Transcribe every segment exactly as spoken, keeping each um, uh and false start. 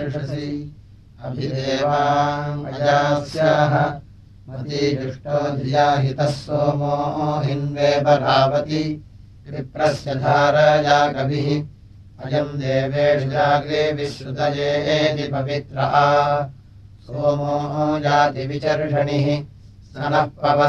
ईर्षसि अभिदेवाङ्गजास्याः मतीजुष्टो धिया हितः सोमो हिन्वे परावति विप्रस्य धारया कविः अयम् देवेषु जाग्रे विश्रुतयेति पवित्रः सोमो जातिविचर्षणिः सनः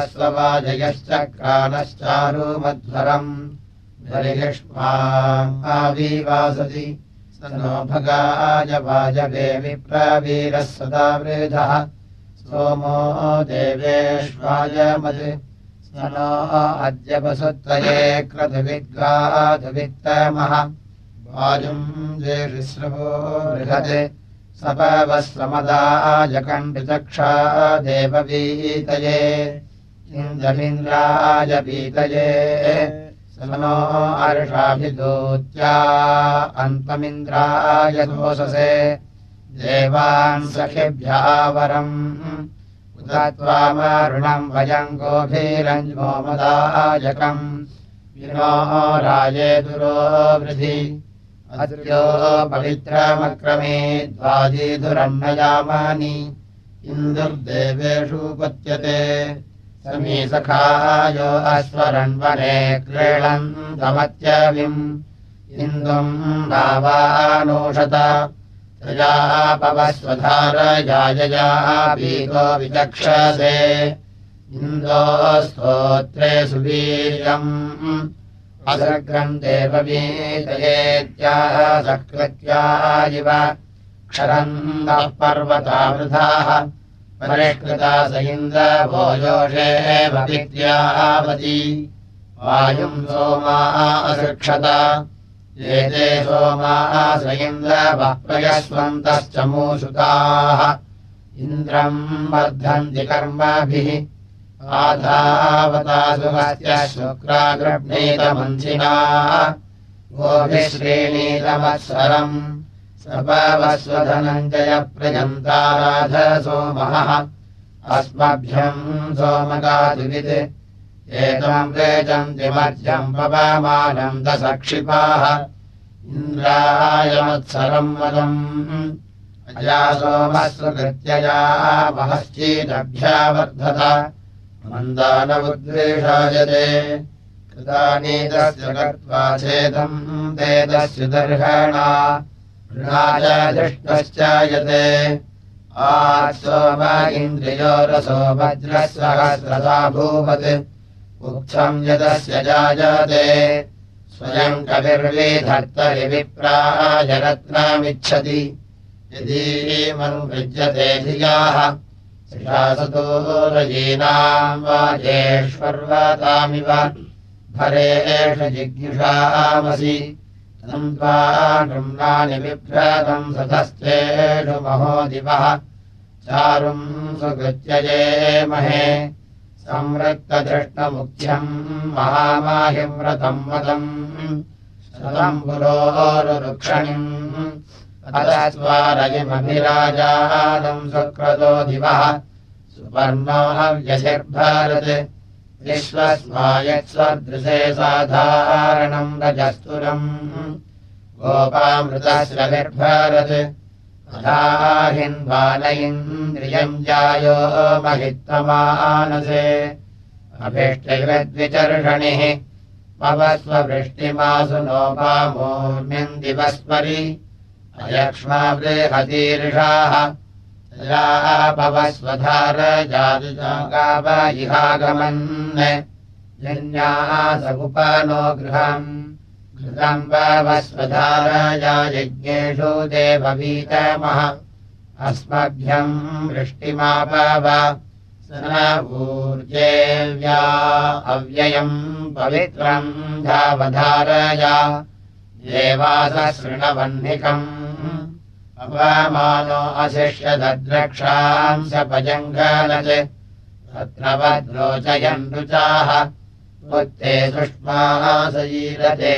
पवस्ववाजयश्चक्रानश्चारुमध्वरम् बलिष्माम् आविवासति स नो भगाय वाजवे विप्रवीरः सदा वृधः सोमो देवेष्वायमत् स नो अद्य वसुत्वये क्रतुविद्गाधुवित्तमः वाजुम् द्वेषिस्रवो बृहत् सपवस्वमदायकण्डचक्षा देववीतये इन्द्रमिन्द्राय पीतये स नो अर्षाभिदूत्या अन्तमिन्द्राय दोषसे देवान् सखिभ्यः वरम् उत त्वामरुणम् वयम् गोभीरञ्जो मदायकम् विनो राजेदुरो वृधि अद्यो पवित्रमक्रमे द्वाजीधुरन्नयामानि इन्दुर्देवेषु पत्यते समी सखायो अस्वरन्वने क्रीडन्तमत्यविम् इन्दुम् भावानोषत तया पवस्वधारयायया भीतो विचक्षसे इन्दो स्तोत्रे सुवीर्यम् असर्गम् देववीतयेत्याः सकृत्या इव क्षरन्तः पर्वतावृथाः परिष्कृता स इन्द्रभो योषे भवित्यावती वायुम् सोमा असृक्षत एते सोमा स इन्द्रवः प्रयस्वन्तश्च मूषुताः इन्द्रम् वर्धन्ति कर्मभिः आधावतासुहस्य शुक्रागृह्णीतमन्थिना गोभिः श्रेणीतमत्सरम् सपवस्वधनञ्जय प्रयन्ताराध सोमः अस्मभ्यम् सोमगादिवित् एतम् प्रेजन्ति मध्यम् पवमानम् दशक्षिपाः इन्द्रायमत्सरम् वदम् अया सोमस्वकृत्यया महश्चीदभ्यावर्धत मन्दानमुद्वेषायते कृतानीतस्य कृत्वा चेदम् वेदस्य दर्हणा ऋणा च दृष्टश्चायते आत्सोम इन्द्रियो रसो वज्रसहस्रदा भूवत् उक्थम् यदस्य जायते स्वयम् कविर्विधर्तरि विप्राय रत्नमिच्छति यदीमनुवृज्यते धियाः शिशासतोरयीनाम् वाजेष्वर्वतामिव भरेष जिज्ञुषामसि तम् त्वा नृम्णानि बिभ्रतम् सधस्तेषु महोदिवः चारुम् सुकृत्यये महे संवृत्तधृष्णमुख्यम् महामाहिम् व्रतम् वदम् शतम् पुरोरुक्षणिम् अतस्वारयिमभिराजानम् सुक्रतो दिवः सुपर्णो हव्यशिर्भारत् विश्वस्मायत्स्वदृशे साधारणम् रजस्तुरम् गोपामृतस्रविर्भारत् अधाहिन्वान इन्द्रियम् जायो महित्तमानसे अभिष्टैवद्विचर्षणिः पवस्ववृष्टिमासु नोपामूर्म्यम् दिवस्परि अयक्ष्मा बृहतीर्षाः तया पवस्वधारजातुगाव इहागमन् जन्याः सगुपनो गृहम् घृतम् पवस्वधारया यज्ञेषु देववीतमः अस्मभ्यम् वृष्टिमापव स न ऊर्जेव्या अव्ययम् पवित्रम् धावधारया देवासशृणवह्निकम् अपमानो अशिष्यदद्रक्षाम् स पजङ्गलत् तत्र वद्रोचयन् रुचाः उत्ते सुष्मासयीरते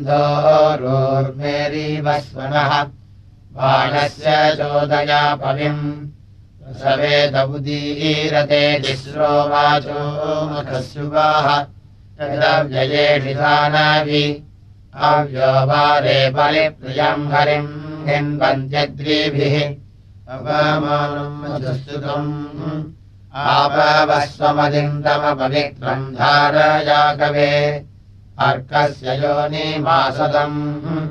सिन्धोरोर्मेरीवस्वनः बाणस्य चोदया पविम् सवेद उदीरते तिस्रो वाचो मखस्युवाः तदव्ययेषि सानवि अव्यो वारे बलिप्रियम् हरिम् हिन्वन्त्यद्रीभिः अपमानम् मधुस्तुतम् आपवस्वमदिन्दमपवित्रम् धारयाकवे अर्कस्य योनिमासदम्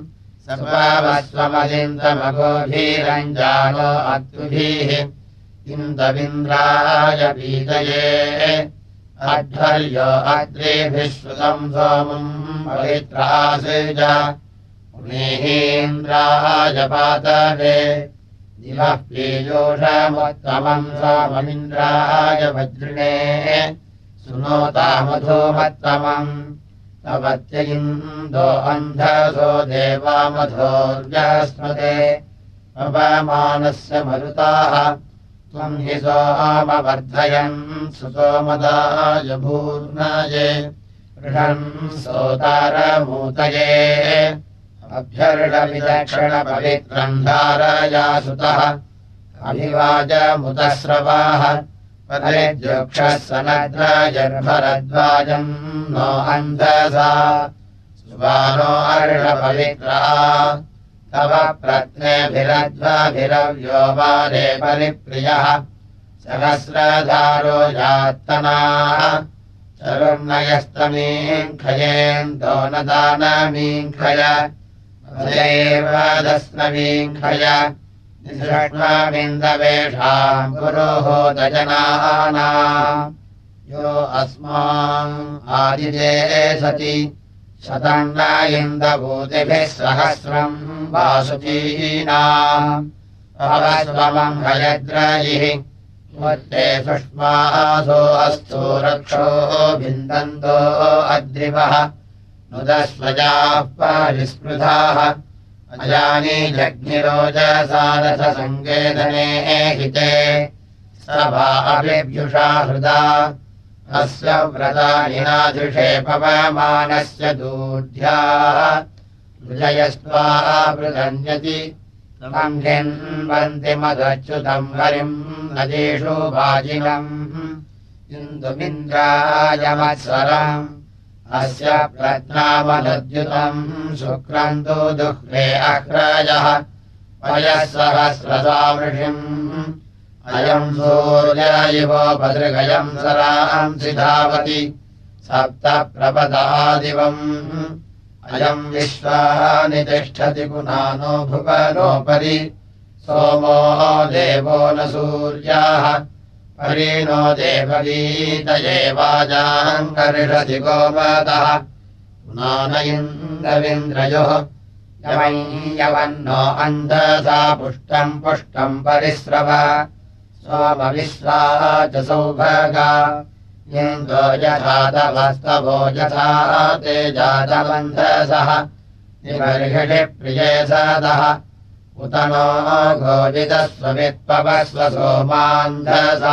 सपावस्वमदिन्दमगोभीरञ्जानो अत्युभिः इन्दविन्द्राय पीतये अध्वर्यो अद्रेभिः श्रुतम् सोमम् पवित्रासेज पुनेहीन्द्राय पातवे दिवः पीयूषमुत्तमम् सोममिन्द्राय वज्रिणे सुनोतामधूमत्तमम् तवत्य इन्दो अन्धसो देवामधोर्यस्मते अपमानस्य मरुताः त्वम् हि सोमवर्धयन् सुसोमदाय भूर्नाये ऋषन् सोतारमूतये अभ्यर्षविदक्षिणपवित्रम् धारयासुतः अभिवाजमुतस्रवाः परेद्योक्षः सनद्राजर्भरद्वाजम् नो अन्धसा सुवानो अर्षपवित्रा तव प्रत्नेभिरध्वाभिरव्यो वारे परिप्रियः सहस्रधारो यात्तनाः चरुर्नयस्तमीङ्खयेन्दो न दानमीङ्खय वदस्नमीङ्खय निसृष्टामिन्दवेषाम् पुरोहोदजनानाम् यो अस्मान् आदिजे सति शतम् न इन्दभूतिभिः सहस्रम् वासुचीनाम् अवस्वमम् हयद्रयिः मुत्ते सुष्मासो अस्तु रक्षो भिन्दन्तो अद्रिवः नुदस्वजाः परिस्पृधाः अजानी जग्निरोजसारथसङ्केतने हिते सभा अभिभ्युषा हृदा अस्य व्रतानि नादृशे पवमानस्य दूढ्याः विजयस्त्वा वृदन्यति तमम् हिन्वन्ति मदच्युतम् हरिम् नदीषु वाजिनम् इन्दुमिन्द्राय मत्सरम् अस्य प्रज्ञामनुद्युतम् शुक्रम् तु दुह्रे अह्रजः पयः सहस्रसामृषिम् अयम् सूर्य इवोपदृगयम् सरांसि धावति सप्त प्रपदादिवम् अयम् विश्वानि तिष्ठति पुनानो भुवनोपरि सोमो देवो न सूर्याः परीनो देवगीतये वाजाङ्कर्षति गोमतः पुनान इन्द्रविन्द्रयोः यवन्नो अन्धसा पुष्टम् पुष्टम् परिस्रव सोमविश्वा च सौभगा इन्दो यथातवस्तवो यथा ते जातमन्धसः निबर्हिषि प्रिये सदः उत नो गोविदस्ववित्पवस्व सोमान्धसा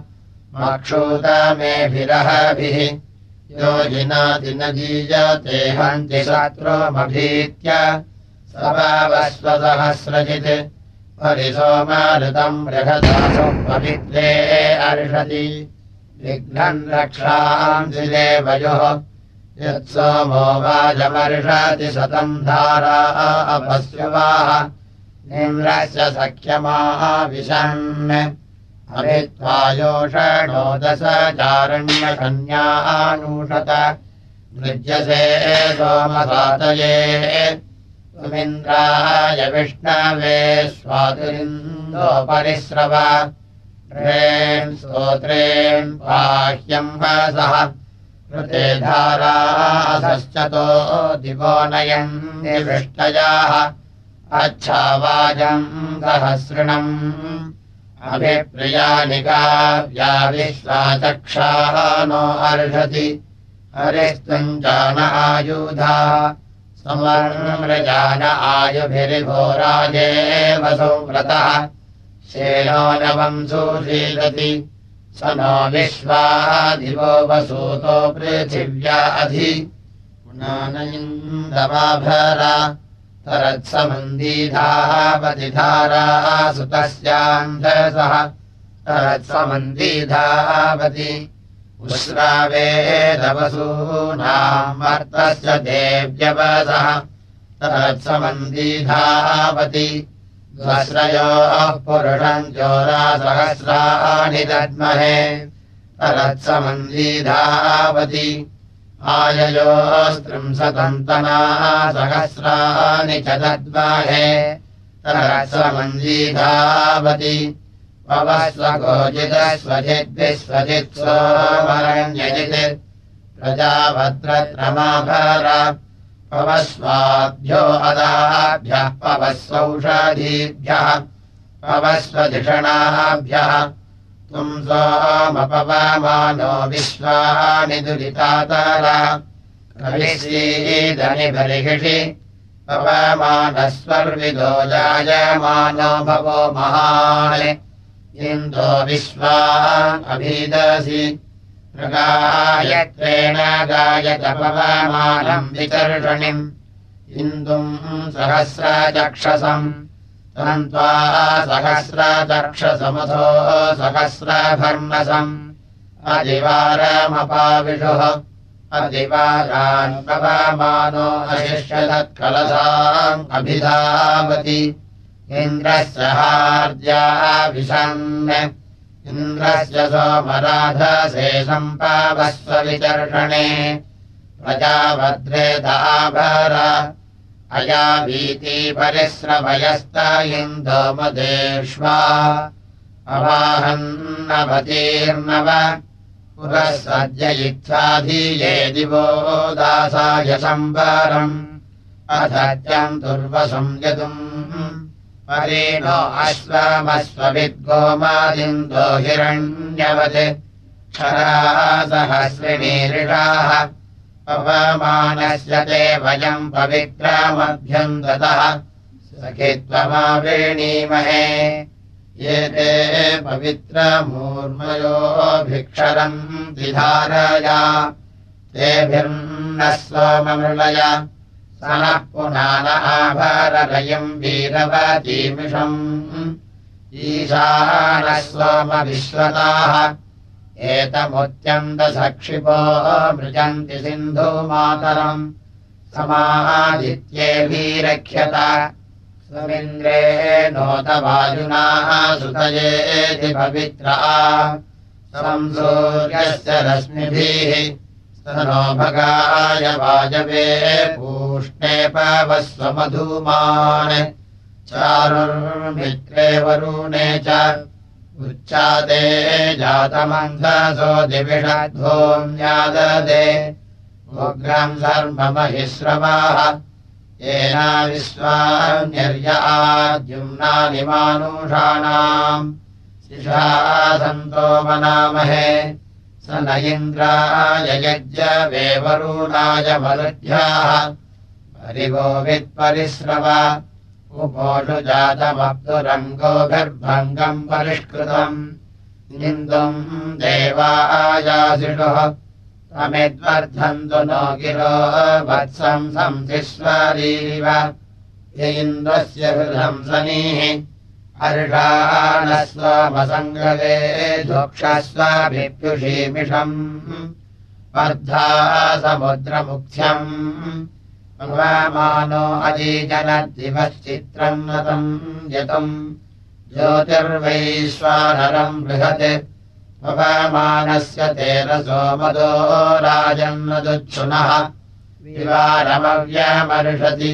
मक्षूतमेभिरहभिः योजिनाति न जीयते हन्ति शत्रुमभीत्य सभावस्व सहस्रजित् परिसोमारुतम् बृहदासु पवित्रे अर्षति विघ्नम् रक्षांसि देवयोः यत्सोमो वाजमर्षति शतम् धारा अपस्युवाः निम्रस्य सख्यमाविशन् अभित्वायोषणो दश चारण्यकन्यानूषत मृज्यसे सोमसातये तुमिन्द्राय विष्णवे स्वातुरिन्दो परिस्रव ्रेन् स्तोत्रेन् बाह्यम् हसः कृते धारासश्चतो दिवो नयन् निवृष्टयाः अच्छावाजम् सहस्रिणम् अभिप्रियानि काव्या विश्वाचक्षाः नो अर्षति हरिस्त्वम् जान आयुधा समर्मृजान आयुभिरिभोराजे वसुव्रतः शेनो नवम् सुषीदति स नो विश्वादिवो वसूतो पृथिव्या अधि पुनान इन्दमाभरा तरत्समन्दीधावतिधारा सुतस्यान्धसः तरत्समन्दीधावति उश्रावेदवसूनाम् मर्तस्य देव्यवसः तरत्समन्दीधावति स्वस्रयोः पुरुषम् जोरासहस्राणि दद्महे तरत्समन्वीधावति आययोस्त्रिंशतन्तनाः सहस्राणि च दद्महे तरत्समन्वीधावति पवस्वगोजितस्वजिद्विस्वजित्सोमरण्यजित् प्रजाभद्रत्रमाभर पवस्वाभ्यो अदाभ्यः पवस्वौषधीभ्यः पवस्वधिषणाभ्यः त्वम् सोमपवमानो विश्वानि दुरितातर कविश्रीदनि बर्हिषि पवमानस्वर्विदो जायमानो भवो महान् इन्दो विश्वान् अभिदसि गायत्रेण गायत पवमानम् विचर्षणिम् इन्दुम् सहस्रचक्षसम् तन्त्वा सहस्रचक्षसमथो सहस्रभर्मसम् अधिवारमपाविषुः अधिवारान् पवमानो अशिष्यतत्कलसाम् अभिधावति इन्द्रस्य हार्द्या विशन् इन्द्रस्य सोमराधसे सम्पावस्व विचर्षणे प्रजाभद्रे दाभर अयावीति परिस्रवयस्त इन्दो मदेष्वा अवाहन्नवतीर्नव पुरः सज्जयित्वाधीये दिवो दासाय सम्वरम् अधत्यम् दुर्वसम् यदुम् परेणो अश्वमश्वविद्गोमादिन्दो हिरण्यवत् क्षरासहस्रिणीरिषाः पवमानस्य ते वयम् पवित्रमभ्यम् दतः सखित्वमावेणीमहे ये ते पवित्रमूर्मयोभिक्षरम् धारया तेभिर्नः सोममृळय सनः पुनान आभरलयम् वीरवतीमिषम् ईशानः सोमविश्वताः एतमुत्यन्तसक्षिपो मृजन्ति सिन्धुमातरम् समादित्येभिरक्ष्यत स्वमिन्द्रे नोतवायुनाः सुतयेति पवित्रा संसूर्यस्य रश्मिभिः नो भगाय वाजवे पूष्णे पवस्वमधूमान् चारुर्मित्रे वरुणे च उच्चाते जातमन्धसो दिविषद्भूम्याददे उग्रम् सर्वमहिश्रवाः येना विश्वान्यर्य आद्युम्नानि मानुषाणाम् शिषा सन्तो मनामहे स न इन्द्राय यज्ञवे वरुणाय मरुद्भ्याः परिगोवित्परिश्रव उपोषु जातमप्तुरङ्गोभिर्भङ्गम् परिष्कृतम् इन्दुम् देवायासिषुः तमिद्वर्धन्तु नो गिरो वत्सम् संसिस्वरीव य इन्द्रस्य हृदम् सनीः अर्षाणस्वमसङ्गवे धोक्षस्वाभिप्युषीमिषम् वर्धा समुद्रमुख्यम् पवमानो अजीजनद्दिवश्चित्रम् नतम् यतुम् ज्योतिर्वैश्वानरम् बृहत् पवमानस्य तेरसो मदो राजन्नदुच्छुनः विवारमव्यमर्षति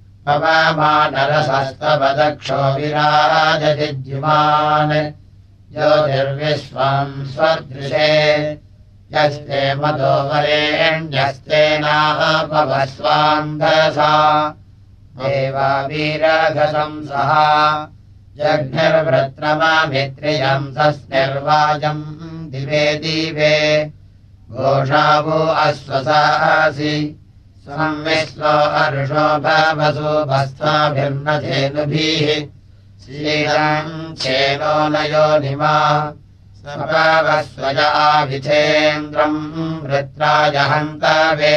पवमानरसस्तवदक्षो विराजजिद्युमान् ज्योतिर्विश्वम् स्वदृशे यस्ते मदो वरेण्यस्तेनापवस्वान्धसा देवा वीरघसंसः जघ्निर्वृत्रममित्रियम् सस्निर्वाजम् दिवे दिवे घोषावो अश्वसासि संविश्वो अर्षो भवसु भस्वाभिर्नधेनुभिः श्रीरम् चेनो नयो निमा सपवस्वजाभिथेन्द्रम् वृत्राय हन्तवे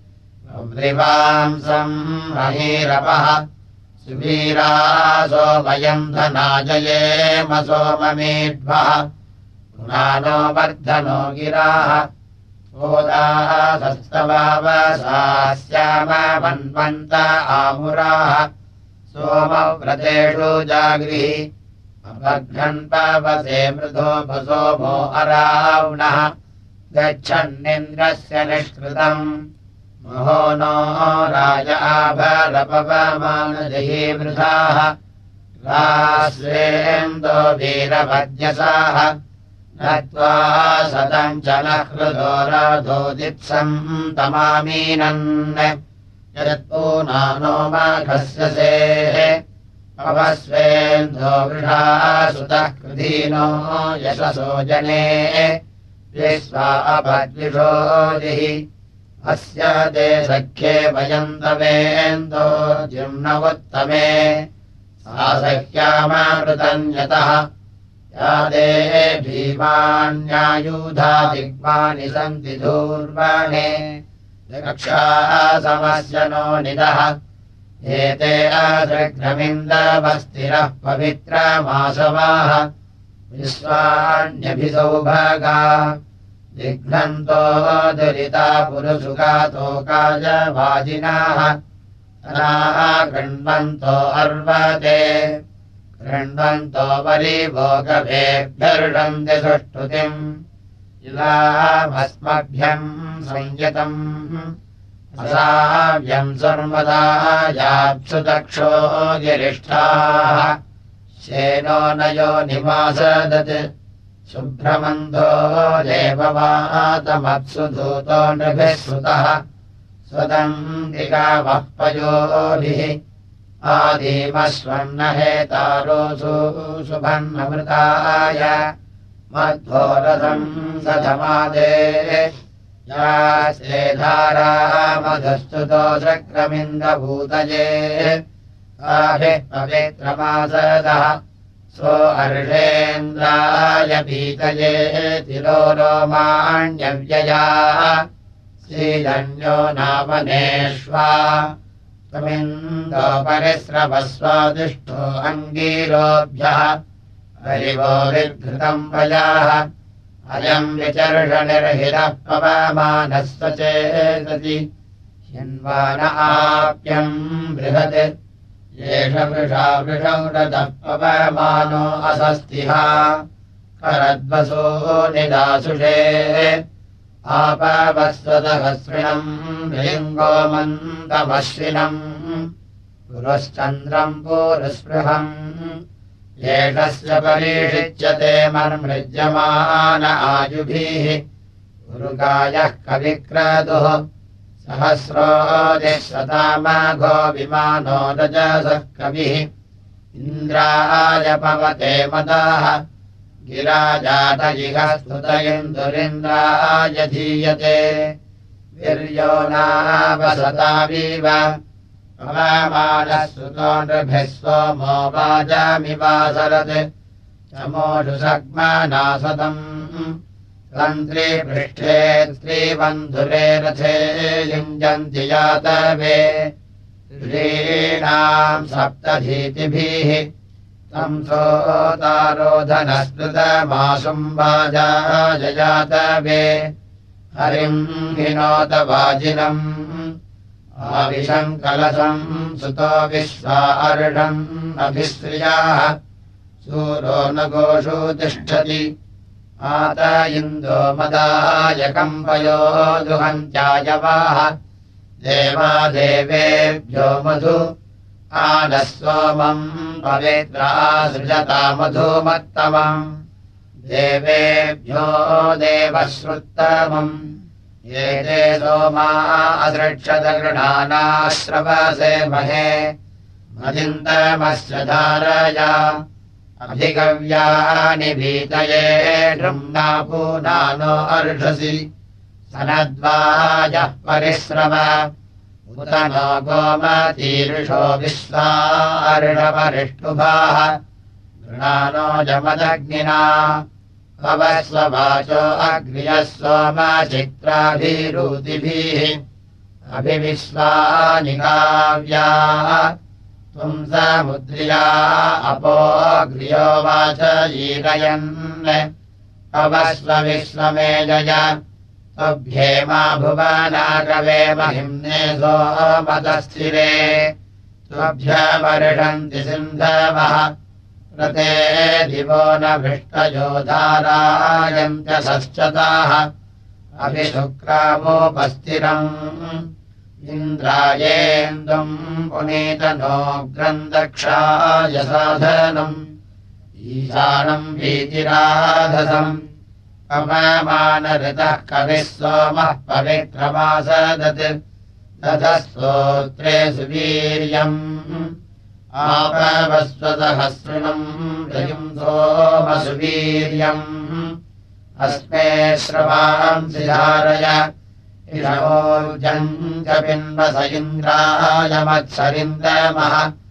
वृवांसम् महीरपः सुवीरासो वयम् धनाजयेम सोममेध्वः पुनानो वर्धनो गिराः ओदासस्तवावसा स्याम वन्वन्त आमुराः सोमव्रतेषु जागृहि अपघ्नन्पवसे मृधोपसोमो अरावणः गच्छन्निन्द्रस्य निष्कृतम् महो नो राज आभरपवमानजहि मृधाः रास्वेन्दो वीरभद्यसाः नत्वा सतम् च न हृदो रथोदित्सम् तमामीनन् यत्पूनानो माघस्य सेः अवस्वेन्दो वृषा सुतः कृधीनो यशसो जने विश्वा अभद्विषोदिः अस्य ते सख्ये वयन्तवेन्दो जिम्नवुत्तमे सा सख्यामामृतन्यतः या ते भीमान्यायुधा दिग्मानि सन्ति धूर्वाणे दक्षासमस्य नो निदः एते असृग्रमिन्दवस्तिरः पवित्रमासवाः विश्वाण्यभिसौभागा दिघ्नन्तो दुरिता पुरुषुगातो काजवाजिनाः तनाः कृण्वन्तो अर्वते कृण्वन्तो परिभोगभेभ्यर्षन्ति सुष्ठुतिम् इलामस्मभ्यम् संयतम् असाव्यम् सर्वदा याप्सु दक्षो गिरिष्ठाः शेनो नयो निवासदत् शुभ्रमन्धो देववातमप्सु धूतो नृभिः श्रुतः स्वदन्तिकावः पयोभिः आदिमस्वन्न हेतारोऽसु शुभन्नमृताय मध्वोरथम् सधमादे यास्ते धारा मधुस्तुतो शक्रमिन्दभूतये आभिः पवित्रमासदः सो अर्षेन्द्राय पीतये तिरोरोमाण्यव्ययाः श्रीधन्यो नामनेष्वा त्वमिन्दो परिस्रवस्वादिष्ठो अङ्गीरोभ्यः हरिवो विघृतम् वयाः अयम् विचर्षनिर्हितः पवमानः स्वचेतसि हिन्वान आप्यम् बृहत् येष वृषा वृषौ रथः पवमानो असस्तिहा करद्वसो निदासुषे आपवस्वतहस्रिणम् भृङ्गो मन्दमश्विनम् पुरश्चन्द्रम् पूरुस्पृहम् येषस्य परीषिच्यते मर्मृज्यमान आयुभिः उरुगायः कविक्रतुः सहस्रोदिशतामाघो विमानो रजसः कविः इन्द्राय पवते मदाः गिराजातजिह स्तुत इन्दुरिन्द्राय धीयते वीर्यो नावसताविव पवमानः सुतो नृभिः सोमो वाजामिवासरत् चमोषु सग्मनासदम् तन्त्रीपृष्ठे स्त्रीबन्धुरे रथे युञ्जन्ति यातवे ऋषीणाम् सप्तधीतिभिः तम् सोतारोधनस्मृतमासुम् वाजायजातवे हरिम् हिनोत वाजिनम् आविशम् कलशम् सुतो विश्वा अर्षम् अभिश्रियाः सूरो न गोषु तिष्ठति आत इन्दो मदाय कम्पयो दुहन्त्यायवाः देवादेवेभ्यो मधु आनः सोमम् पवित्रा सृजता मधुमत्तमम् देवेभ्यो देवश्रुत्तमम् ये ते सोमा असृक्षत गृणानाश्रवसे महे मदिन्दमस्य धारया अभिगव्यानि भीतये नृम्ना पूनानो अर्षसि सनद्वाजः परिश्रव उत नो गोमतीर्षो विश्वार्षपरिष्टुभाः गृणानो जमदग्निना अवस्ववाचो अग्र्यः सोमचित्राभिरूतिभिः अभिविश्वानि काव्याः त्वम् समुद्र्या अपोऽग्र्यो वाचयीरयन् अवस्व विश्वमेजय त्वभ्येमा भुवनाकवे महिम्ने सोमतस्थिरे तुभ्यमर्षन्ति सिन्धवः रते दिवो न भृष्टयो धारायन्त्यसश्चताः अभिशुक्रावोपस्थिरम् इन्द्रायेन्दुम् पुनीतनोग्रम् दक्षाय साधनम् ईशानम् वीतिराधसम् पवमानऋतः कविः सोमः पवित्रमासदत् ततः स्तोत्रे सुवीर्यम् आपवस्वतहस्रिणम् रयुम् सोमसुवीर्यम् अस्मे श्रवांसि धारय इषवोर्जम् च पिन्वस इन्द्राय मत्सरिन्दमः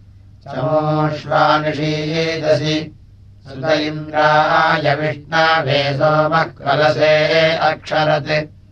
चमोष्वानिषीदसि सुत इन्द्राय विष्णवे सोमः कलसे अक्षरत्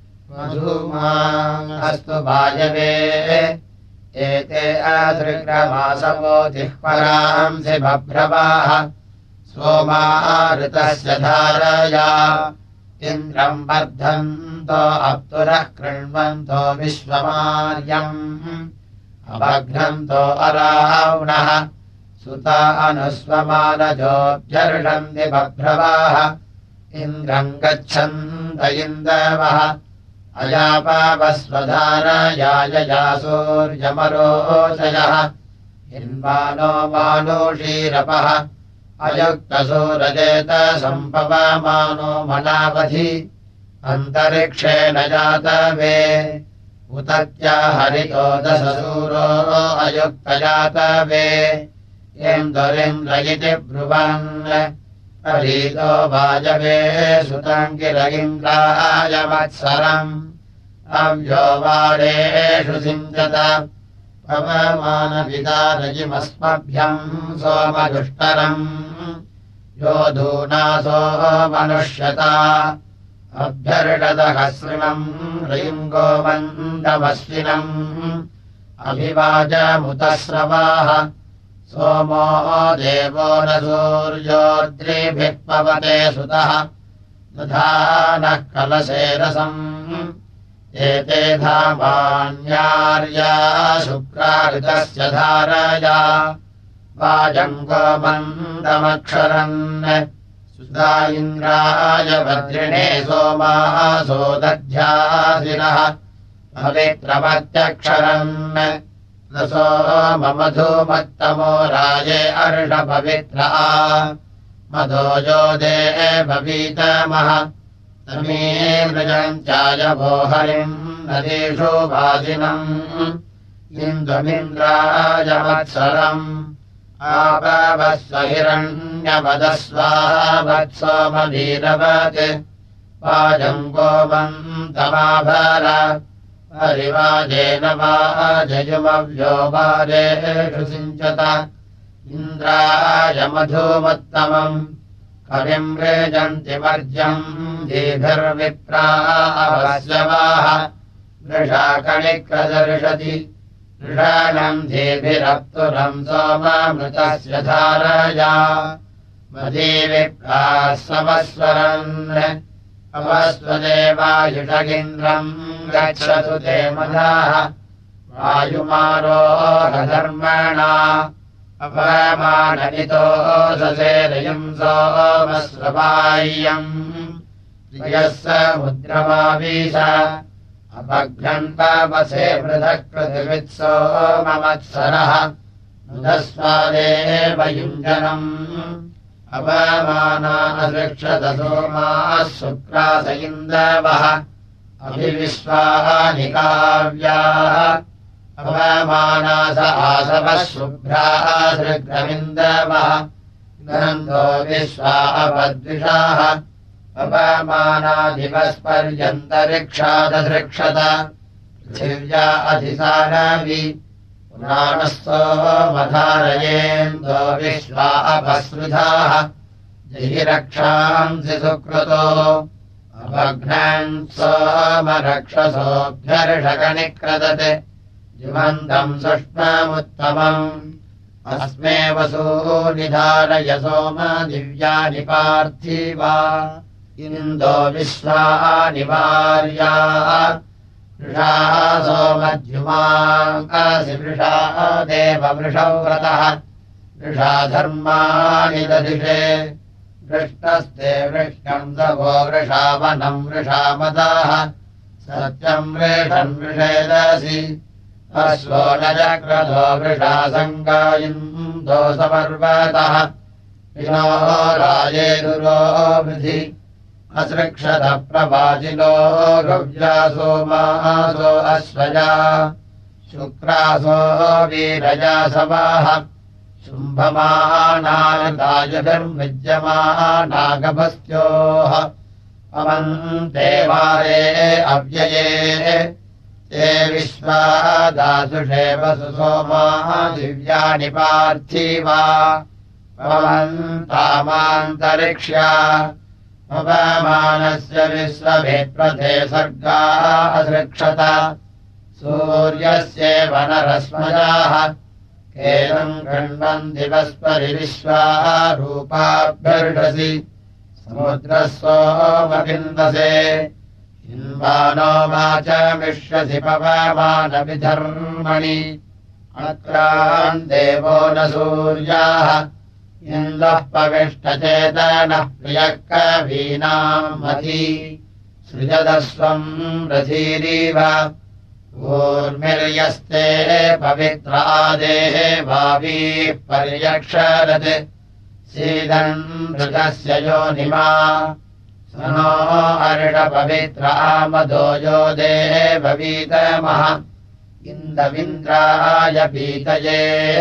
मधुमास्तु वायवे एते अधृग्रमासवो जिह्वरांसि बभ्रवाः सोमा ऋतस्य धारया इन्द्रम् वर्धन्तो अप्तुरः कृण्वन्तो विश्वमार्यम् अभघ्नन्तो अरावणः सुता अनुस्वमानजोऽभ्यर्षन्ति बभ्रवाः इन्द्रम् गच्छन्त इन्दवः अयापावस्वधारयायया सूर्यमरोचयः हिन्वानो मानुषीरपः अयुक्तसूरजेत सम्पवमानो मनावधि अन्तरिक्षेण जातवे उतत्या हरितो दशसूरो अयुक्तजातवे इन्द्रिन्द्र इति ब्रुवन् परीतो वाजवे सुतम् गिर इन्द्राय वत्सरम् अव्यो वारेषु सिञ्चत पवमानविदारजिमस्मभ्यम् सोमदुष्टरम् योधूनासो मनुष्यता अभ्यर्षदहस्रिणम् रयिम् गोमन्दमस्विनम् अभिवाजमुतस्रवाः सोमो देवो न सूर्योद्रिभिः पवते सुतः दधानः कलशे रसम् एते धामान्यार्या शुक्राऋतस्य धारया वाजम् गोमन्दमक्षरन् सुधा इन्द्राय भद्रिणे सोमासो दध्यासिनः पवित्रमत्यक्षरन् रसो मधुमत्तमो राजे अर्षपवित्रा मधोजो देववीतमः तमीमृजम् चायवो हरिम् नदीषु वासिनम् इन्दुमिन्द्राय वत्सरम् आपवस्व हिरण्यवदस्वावत्सोमवीरवत् वाजम् गोमन्तमाभर हरिवाजेन वाजयुमव्यो वारेषु सिञ्चत इन्द्राय मधुमत्तमम् कविम् रेजन्ति वर्ज्यम् दीभिर्विप्रा अवस्यवाः वृषाकणिक्रदर्शति वृषाणम् धीभिरप्तुरम् सोमामृतस्य धारया मदीविप्राः समस्वरन् अवस्वदेवायुषगिन्द्रम् गच्छतु ते मदाः वायुमारोहधर्मणा अपमाननितो ससेरयम् सोमस्वबाह्यम् प्रियः समुद्रमावीश अपघ्नन् पावसे पृथक् पृथिवित्सोममत्सरः मुदस्वादेव युञ्जनम् अपमाना अदृक्षत सोमाः शुक्रास इन्दवः अभिविश्वानि काव्याः अपमानास आसवः शुभ्राः सृग्रमिन्दवः गन्धो विश्वा अपद्विषाः अपमानादिवस्पर्यन्तरिक्षादधृक्षत पृथिव्या अधिसानवि पुराणः सोमधारयेन्दो विश्वा अपस्रुधाः जहिरक्षांसि सुकृतो अपघ्नन् सोमरक्षसोऽभ्यर्षकनिक्रदत् जिमन्तम् सुष्मामुत्तमम् अस्मे वसूनि धारय सोम दिव्यानि पार्थिवा इन्दो विश्वानि वार्या वृषासो मध्यमाम् असि वृषा देववृषौ व्रतः वृषा धर्माणि दधिषे वृष्णस्ते वृष्णम् दवो वृषावनम् वृषामदाः सत्यम् वृषन् वृषेदसि अश्वो न चक्रधो वृषा सङ्गायिन्दो समर्वतः विनो राजेदुरो वृधि असृक्षतः प्रवाचिनो गव्यासो मासो अश्वया शुक्रासो वीरयासवाः शुम्भमानायतायुभिर्विद्यमानागभस्त्योः अमन्ते वारे अव्यये ते विश्वा दासुषे वसु सोमा दिव्यानि पार्थिवा पवन्तामान्तरिक्ष्या पवमानस्य विश्वभिप्रथे सर्गा असृक्षत सूर्यस्येव नरस्मयाः केनम् गण्वन्ति वस्परि विश्वा रूपाभ्यर्षसि समुद्रः सोमविन्दसे इन्वानो वाचमिष्यसि पवमानविधर्मणि अत्रान् देवो न सूर्याः इन्दः पविष्टचेतनः प्रियः कवीनाम् मती सृजदस्वम् रथीरीव ऊर्मिर्यस्ते पवित्रादेः भावीः पर्यक्षरत् सीदन् मृगस्य योनिमा स नो अर्षपवित्रा मदो यो देववीतमः इन्दविन्द्राय पीतये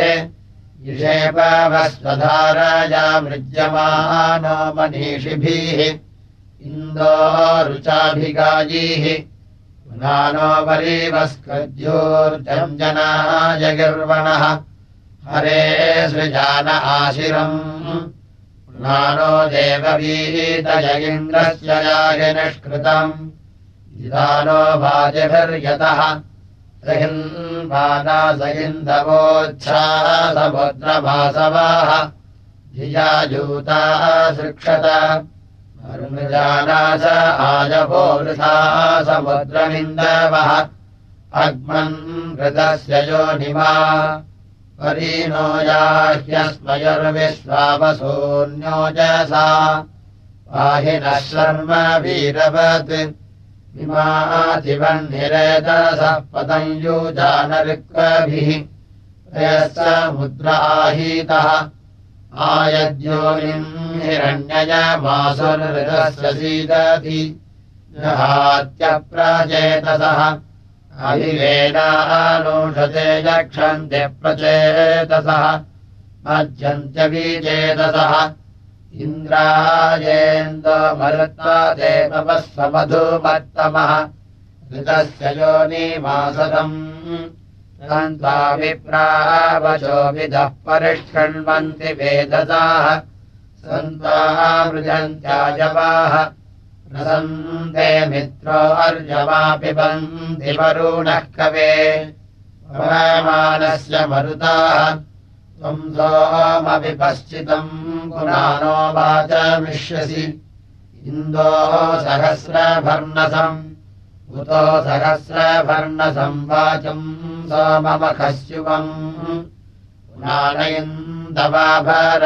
इषेपवस्वधारया मृज्यमानो मनीषिभिः इन्दो रुचाभिगायीः पुनानो वरीवस्कृद्योर्जम् जनाय गिर्वणः हरे सृजान आशिरम् पुनानो देववीतय इन्द्रस्य याहि निष्कृतम् इदानो वाजिभिर्यतः सहिन्वानास इन्दवोच्छासमुद्रमासवाः धियायूता सृक्षत मरुजानास आजभो वृथा समुद्रमिन्दवः अग्मन् घृतस्य योनिमा परीनो याह्यस्मयुर्विश्वावसून्योजसा पाहिनः शर्म वीरवत् विमातिवह्निरेतसः पतञ्जुजानऋक्वभिः प्रयस्समुद्राहीतः आयद्योनिम् हिरण्ययमासुरृतस्य सीदति जहात्यप्रचेतसः अभिवेनानूषते यक्षन्ते प्रचेतसः मज्जन्त्यविचेतसः इन्द्रायेन्दो मरुत्वा देववस्वमधुमत्तमः ऋतस्य योनिमासदम् तन्त्वा विप्रावचो विदः परिष्कृण्वन्ति वेदसाः सन्त्वा मृजन्त्याजवाः प्रसन्ते मित्रो अर्यमा पिबन्ति वरुणः कवे पवमानस्य मरुताः त्वम् सोमविपश्चितम् पुनानो वाचमिष्यसि इन्दो सहस्रभर्णसम् उतो सहस्रभर्णसम् वाचम् सोममखस्युवम् पुनानयन्दवाभर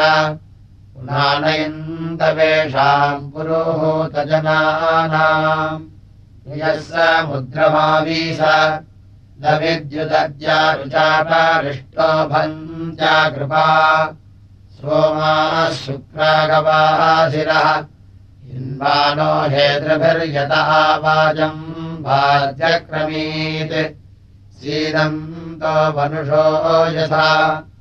पुनानयन्दवेषाम् पुरोहूतजनानाम् यः समुद्रमावीश न विद्युदद्यारुचापरिष्टो भञ्चाकृपा सोमाः शुक्रागवासिरः इन्वानो हेतृभिर्यतः वाजम् भाज्यक्रमीत् सीदन्तो मनुषो यथा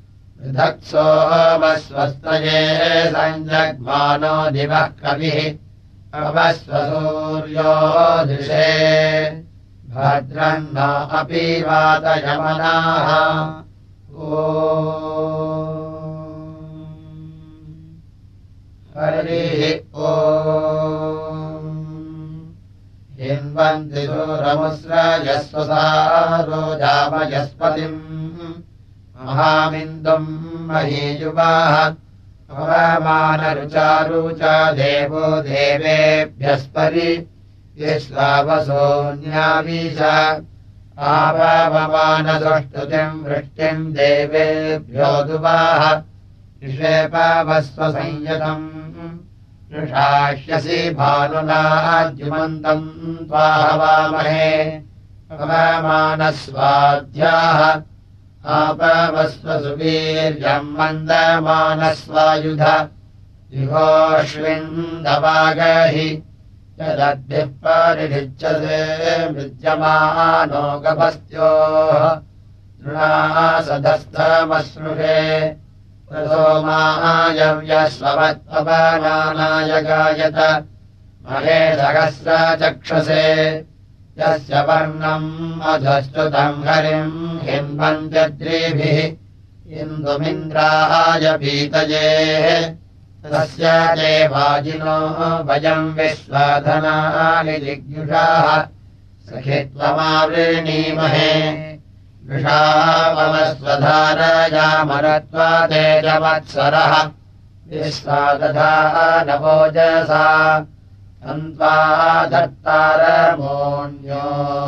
पृथक्सोमस्वस्तये सञ्जग्मानो दिवः कविः अवस्वसूर्यो दृशे भद्रन्न अपि वातयमनाः ओ हरिः ओ हिन्वन्ति सूरमुस्रजस्वसारो जामयस्पतिम् महामिन्दुम् महीयुवाः पवमानरुचारुचा देवो देवेभ्यस्परि विश्वावसोऽन्यावीश आपवमानसुष्टुतिम् वृष्टिम् देवेभ्यो दुवाह ऋषेपावस्वसंयतम् ऋषाह्यसि भानुनाद्युमन्तम् त्वाहवामहे पवमानस्वाध्याः आपवस्वसुवीर्यम् मन्दमानस्वायुध युगोऽश्विन्दवागहि यदद्भिः परिषिच्यते मृज्यमानो गभस्त्योः तृणासधस्थमश्नुषे सोमायव्यस्ववत्पवनानाय गायत महे सहस्रचक्षसे यस्य वर्णम् अधस्तुतम् हरिम् हिन्वन्त्यद्रिभिः इन्दुमिन्द्राय पीतये तस्य देवाजिनो वयम् विश्वधनानि जिज्ञुषाः सखित्वमावृणीमहे वृषावमस्वधारयामरत्वा तेजवत्सरः विश्वादधानवोजसा तन्त्वा दत्तारमोऽन्यो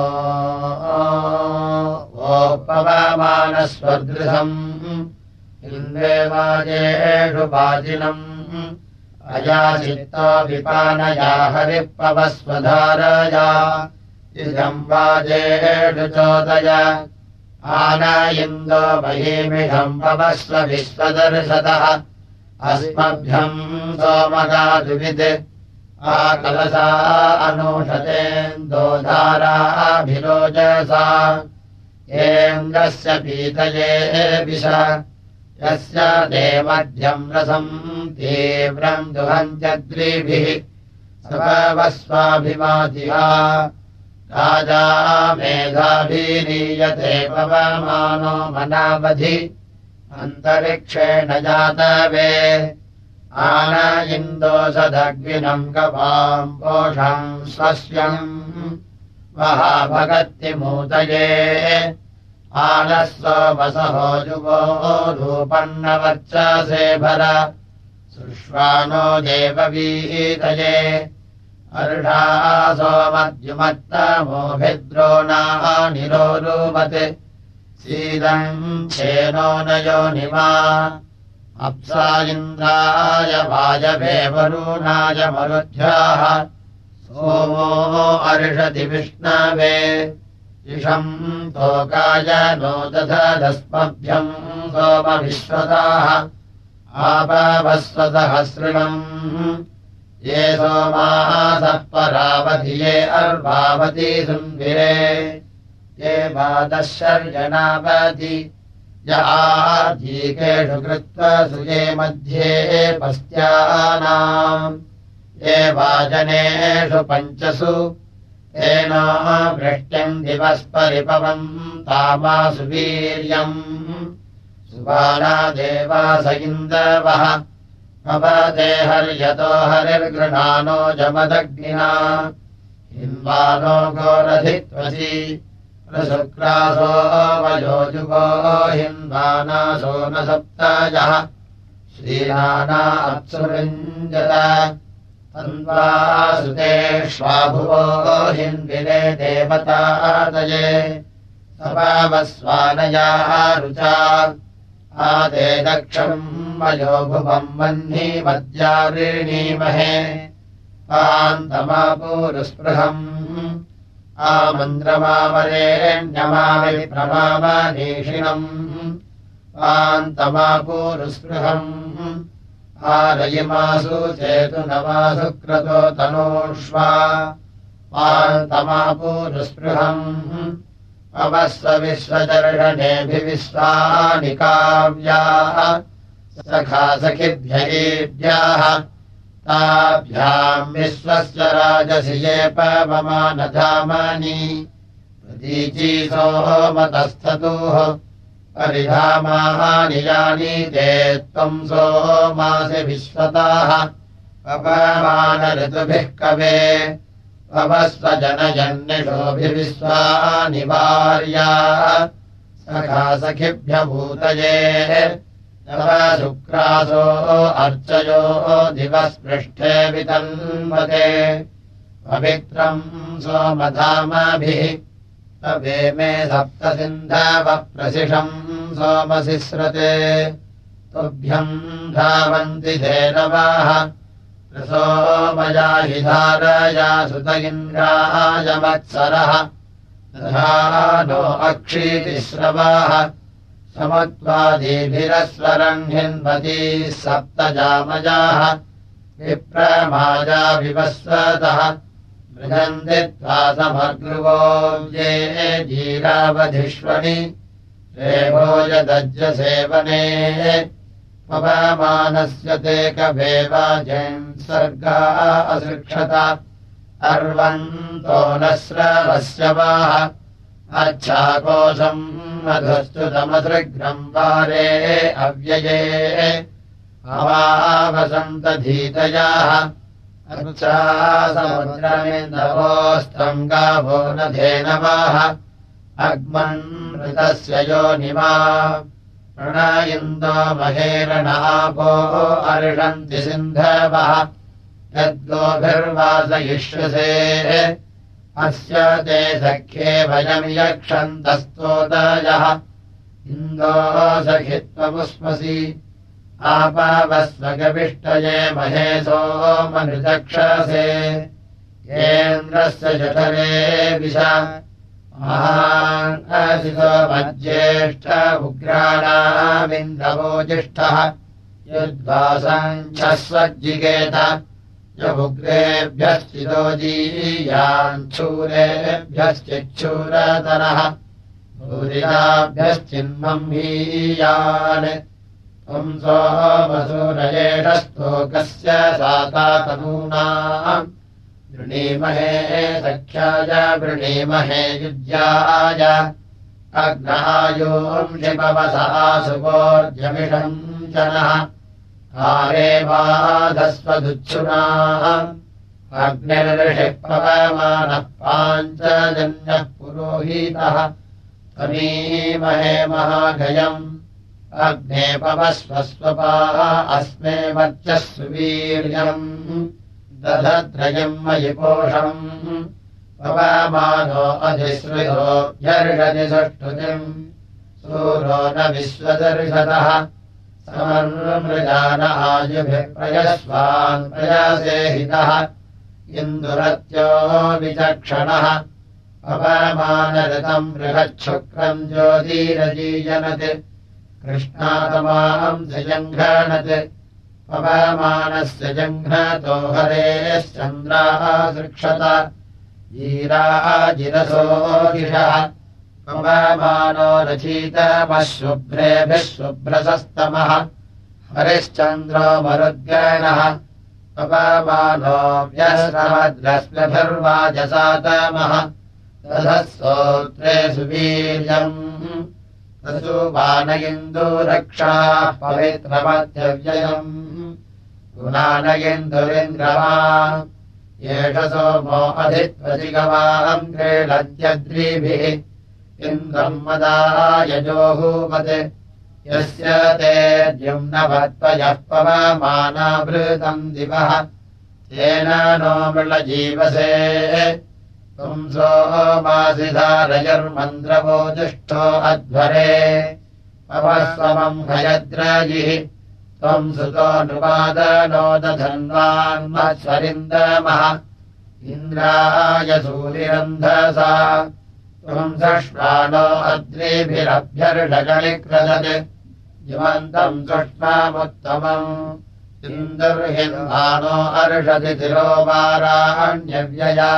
वोपवमानस्वदृशम् इन्द्रेवाजेषु वाजिनम् अयाचित्तो विपानया हरिपवस्वधारया इदम् वाजेषु चोदय आन इन्दो महीमिषम् पवस्व विश्वदर्शतः अस्मभ्यम् सोमगादुविद् आकलसा अनूषतेन्दोधाराभिरोजसा येन्द्रस्य पीतये विश यस्य देमध्यम् रसम् तीव्रम् दुहन्त्यद्रिभिः सपवस्वाभिमातिहा राजा मेधाभिरीयते पवमानो मनावधि अन्तरिक्षेण जातवे आन इन्दोषदग्विनम् गवाम् पोषम् स्वस्यम् महाभगत्तिमूतये आनस्वसहो युगो रूपन्नवर्चसे भर सुष्वानो देववीतये अर्षासोमद्युमत्तमोभिद्रोणानिरोरुवत् सीदम् क्षेनो नयो निमा अप्सा इन्द्राय वायवे वरुणाय मरुध्याः सोमो अर्षति विष्णवे इषम् तोकाय नो दधदस्मभ्यम् सोमविश्वताः आपवस्वसहस्रिणम् ये सोमासः परावधिये अर्वावती सुन्विरे ये वादशर्यणावति य आर्धीकेषु कृत्वा सुये मध्ये पस्त्यानाम् ये वाजनेषु पञ्चसु तेन वृष्ट्यम् दिवस्परिपवम् तामासु वीर्यम् सुबाला देवास इन्दवः पवते हर्यतो हरिर्गृणानो जमदग्निना हिन्वानो गोरधित्वसि शुक्रासो वयोजुगो हिन्वानासो न सप्तायः श्रीनाना अप्सुविञ्जत तन्वासुतेष्वाभुवो हिन्विरे देवतादये सपावस्वानयाः रुचा आदे दक्षम् वयो भुवम् वह्नि मद्यावृणीमहे पान्तमापूरुस्पृहम् आमन्द्रमावरेण्यमाविप्रमावनीषिणम् पान्तमापूरुस्पृहम् आरयिमासु चेतुनमासु क्रतो तनूष्वा पान्तमापूरुस्पृहम् पवस्व विश्वदर्शनेभिविश्वानि काव्याः सखा सखिभ्यैभ्याः ताभ्याम् विश्वस्य राजसि ये पवमानधामनि प्रतीची सोमतस्थतुः परिधामानि यानि ते त्वम् सोमासि विश्वताः पवमानऋतुभिः कवे पवस्व जनयन्निषोभिविश्वानि वार्या सखा सखिभ्यभूतये तव शुक्रासो अर्चयो दिवःस्पृष्ठे वितन्वते पवित्रम् सोमधामभिः तवे मे सप्तसिन्धवप्रसिषम् सोमसिस्रते तुभ्यम् धावन्ति धेनवाः सोमयाहि धारया सुत इन्द्राय मत्सरः नो अक्षीतिस्रवाः समुत्वादीभिरस्वरण्हिन्वतीः सप्तजामजाः विप्रमाजा विवस्वतः मृजन्ति त्वा समग्रुवो ये जीरावधिष्वणि रेभोजदज्जसेवने पवमानस्य ते कवेवाजयन् सर्गा असृक्षत अर्वन्तो न स्रवस्य वाः अच्छाकोशम् मधुस्तुतमसृग्रम् वारे अव्यये अवावसन्तधीतयाः अच्छा समुद्रमिन्दवोऽस्त्वम् गावो न धेनवाः अग्मन्मृतस्य योनिमा प्रणयिन्दो महेरणआपो अर्षन्ति सिन्धवः यद्गोभिर्वासयिष्यसे अस्य ते सख्ये वयम् यक्षन्तस्तोदयः इन्दो सखित्वमुष्मसि आपावस्वगविष्टये महेशो मनुचक्षसे येन्द्रस्य जठरे विशा महासितो मज्येष्ठ उग्राणामिन्द्रवो ज्येष्ठः यद्वासञ्छस्वज्जिगेत युग्रेभ्यश्चितो जीयाञ्छूरेभ्यश्चिच्छूरतरः भूरिताभ्यश्चिन्मह्मीयान् त्वम् सोमसूरयेषस्तोकस्य सातातनूनाम् वृणीमहे सख्याय वृणीमहे युज्याय अग्नायोंषिपवसः सुवोर्जमिषम् जनः आरे बाधस्वदुच्छुनाः अग्निर्षिः पवमानः पाञ्चजन्यः पुरोहितः त्वमीमहे महागयम् अग्ने पवस्वस्वपाः अस्मे वर्चस्सु वीर्यम् दधत्रयम् मयि पोषम् पवमानो अधिश्रुतोऽभ्यर्षति सुष्ठुतिम् सूरो न विश्वदर्शतः समर्मृजान आयुभिः प्रयस्वान् प्रयासेहितः इन्दुरत्यो विचक्षणः पवमानऋतम् बृहच्छुक्रम् ज्योतिरजीयनत् कृष्णातमाम् जङ्घनत् पवमानस्य जङ्घ्नतो हरेश्चन्द्राः सृक्षत जीराजिरसो दिशः पवमानो रचितमशुभ्रेभिः शुभ्रसस्तमः हरिश्चन्द्रो मरुद्गणः पवमानो व्यस्रवद्रश्मिभिर्वाजसातमः दधः स्तोत्रे सुवीर्यम् तसुवानयिन्दुरक्षाः पवित्रमध्यव्ययम् गुणानयिन्दुरिन्द्रमा एष सोमो अधित्वजिगवाहम् क्रीडत्यद्रिभिः इन्द्रम् मदायजोहुमत् यस्य ते द्युम्नवत्वयः पवमानावृतम् दिवः तेन नो मृळजीवसे त्वम् सोमासि धारयर्मन्द्रवो जुष्टो अध्वरे पवस्वमम् हयद्रजिः त्वम् सुतो नृपादनो दधन्वान्मत्सरिन्दमः इन्द्राय सूरिरन्धसा त्वम् सष्मानो अद्रिभिरभ्यर्षगणिक्रदत् युवन्तम् सुष्मामुत्तमम् इन्दुर्हिन्वानो अर्षति तिरोवाराण्यव्यया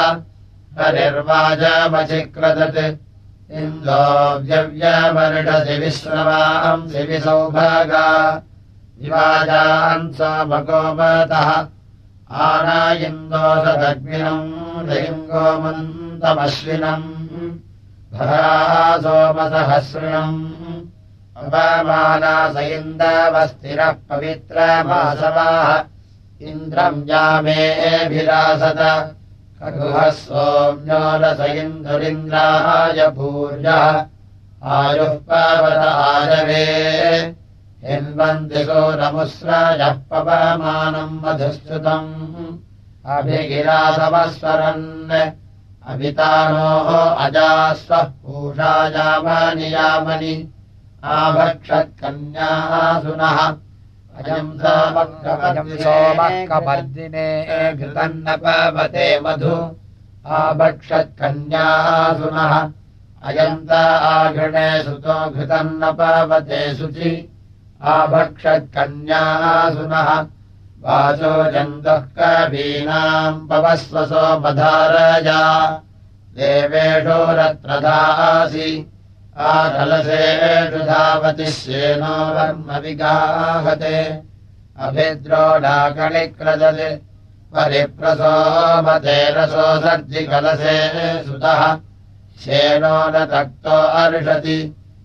हरिर्वाजमचिक्रदत् इन्दो व्यव्यमर्षसि विश्रवांसि विसौभागा विवाजान् समगोमतः आनायिन्दो सदग्निनम् लिङ्गोमन्तमश्विनम् भरा सोमसहस्रिणम् अपमानास इन्दवस्तिरः पवित्रमासवाः इन्द्रम् यामेभिरासत खगुहः सोम्यो रस इन्दुरिन्द्राय भूर्यः आयुः पावत आरवे हिन्वन्ति घोरमुस्राजः पवमानम् मधुस्तुतम् अभिगिरासवस्वरन् अभितानोः अजास्वः पूषायामानि यामनि आभक्षत्कन्यासुनः अयम् सोमकपर्दिने घृतम् न पवते मधु आभक्षत्कन्यासुनः अयन्त आघृणे सुतो घृतम् न पवते शुचि आभक्षत्कन्यासुनः वाचो जन्तुः कवीनाम् पवस्वसो मधारया देवेषु रत्रधासि आकलसेषु धावति श्येनो वर्म विगाहते अभिद्रोडाकणिक्रदते परिप्रसोमते रसो सर्जिकलसे सुतः श्येनो न तक्तो अर्षति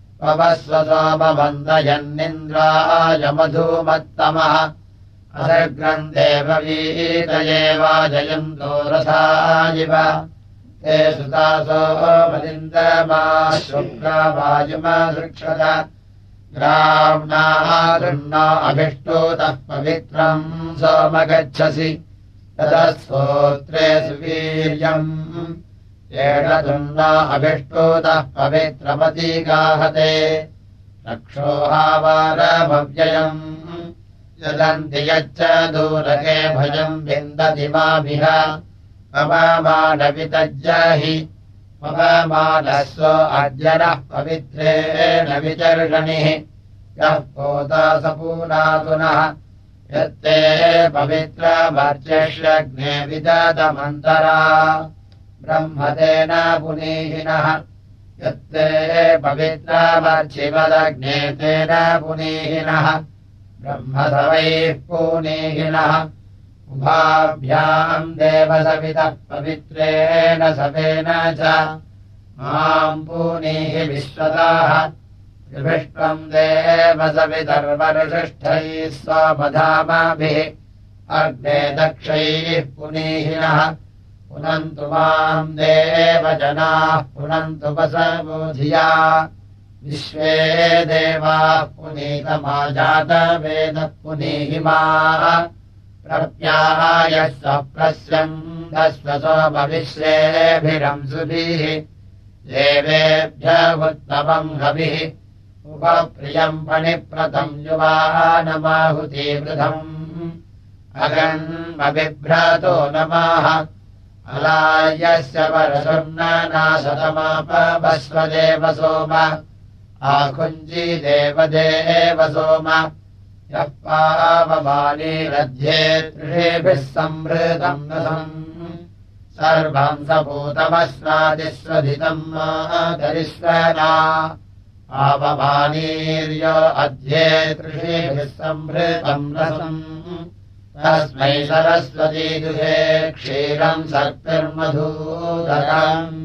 पवस्वसोमवन्दयन्निन्द्राय मधुमत्तमः असर्ग्रम् देववीतये वाजयन्तो रथायिव ते सुतासो मलिन्दमा शुक्रावायुमा सृक्षत ग्राम्णारुण्णो अभिष्टोतः पवित्रम् सोमगच्छसि ततः स्तोत्रे सुवीर्यम् येन तुन्नो अभिष्टोतः पवित्रमतीगाहते रक्षोहावारमव्ययम् यदन्ति यच्च दूरके भयम् विन्दति माभिः पवमानवितज्जाहि पवमानस्व अद्यनः पवित्रेण विचर्षणिः यः पोतासपूनातुनः यत्ते पवित्रमर्चष्यग्ने विदतमन्तरा ब्रह्मतेन पुनीहिनः यत्ते पवित्रमर्चिवदग्ने तेन पुनीहिनः ब्रह्मसवैः पुनीहिनः उभाभ्याम् देवसवितः पवित्रेण सवेन च माम् पुनीः विश्वताः त्रिभिष्टम् देवसवितर्वरुषिष्ठैः स्वमधामाभिः अग्ने दक्षैः पुनीहिनः पुनन्तु माम् देवजनाः पुनन्तु वसवोधिया विश्वे देवाः पुनीतमाजातवेदः पुनीहिमाः प्रप्यायः स्वप्रस्यन्दस्वसोमविश्वेभिरंसुभिः देवेभ्यः उत्तमम् हविः उपप्रियम् फणिप्रतम् युवानमाहुतिवृधम् अगन्मबिभ्रातो नमः अलायस्य परसुर्ननाशतमापवस्वदेव सोम आकुञ्जी देवदेव सोम यः पावमानीरध्ये त्रिषेभिः संवृतम् नसम् सर्वम् सपूतमस्नादिस्वधितम् मातरिस्वना पावमानीर्यो अध्ये त्रिषेभिः संवृतम् नसम् तस्मै सरस्वती दुहे क्षीरम् सर्पिर्मधूदरम्